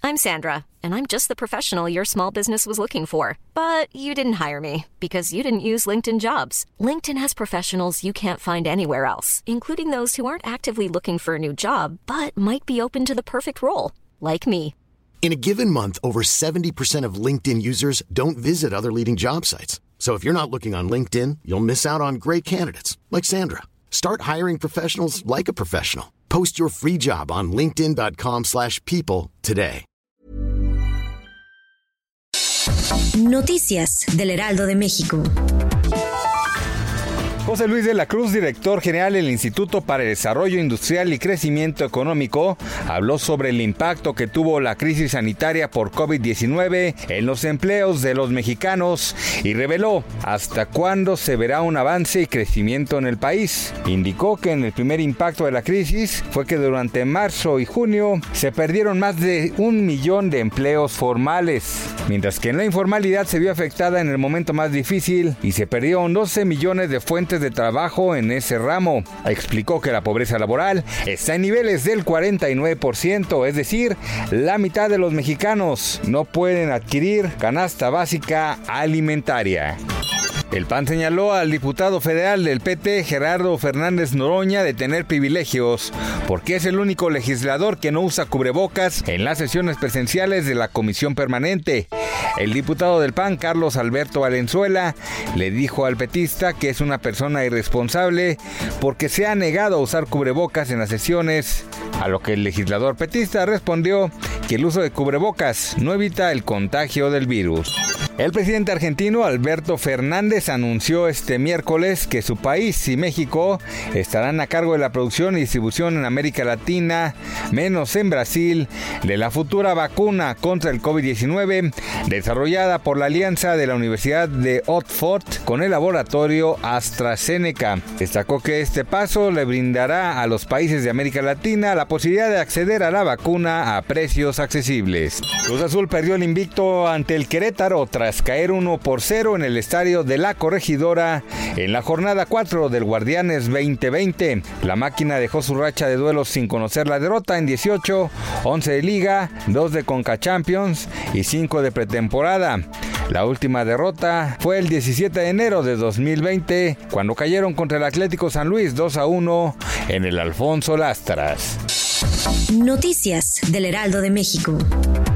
I'm Sandra, and I'm just the professional your small business was looking for. But you didn't hire me because you didn't use LinkedIn Jobs. LinkedIn has professionals you can't find anywhere else, including those who aren't actively looking for a new job, but might be open to the perfect role, like me. In a given month, over 70% of LinkedIn users don't visit other leading job sites. So if you're not looking on LinkedIn, you'll miss out on great candidates like Sandra. Start hiring professionals like a professional. Post your free job on linkedin.com/people today. Noticias del Heraldo de México. José Luis de la Cruz, director general del Instituto para el Desarrollo Industrial y Crecimiento Económico, habló sobre el impacto que tuvo la crisis sanitaria por COVID-19 en los empleos de los mexicanos y reveló hasta cuándo se verá un avance y crecimiento en el país. Indicó que en el primer impacto de la crisis fue que durante marzo y junio se perdieron más de 1 millón de empleos formales, mientras que en la informalidad se vio afectada en el momento más difícil y se perdieron 12 millones de fuentes de trabajo en ese ramo. Explicó que la pobreza laboral está en niveles del 49%, es decir, la mitad de los mexicanos no pueden adquirir canasta básica alimentaria. El PAN señaló al diputado federal del PT, Gerardo Fernández Noroña, de tener privilegios, porque es el único legislador que no usa cubrebocas en las sesiones presenciales de la Comisión Permanente. El diputado del PAN, Carlos Alberto Valenzuela, le dijo al petista que es una persona irresponsable porque se ha negado a usar cubrebocas en las sesiones, a lo que el legislador petista respondió que el uso de cubrebocas no evita el contagio del virus. El presidente argentino Alberto Fernández anunció este miércoles que su país y México estarán a cargo de la producción y distribución en América Latina, menos en Brasil, de la futura vacuna contra el COVID-19 desarrollada por la alianza de la Universidad de Oxford con el laboratorio AstraZeneca. Destacó que este paso le brindará a los países de América Latina la posibilidad de acceder a la vacuna a precios accesibles. Cruz Azul perdió el invicto ante el Querétaro tras caer 1-0 en el estadio de La Corregidora en la jornada 4 del Guardianes 2020. La máquina dejó su racha de duelos sin conocer la derrota en 18, 11 de Liga, 2 de Conca Champions y 5 de pretemporada. La última derrota fue el 17 de enero de 2020, cuando cayeron contra el Atlético San Luis 2-1 en el Alfonso Lastras. Noticias del Heraldo de México.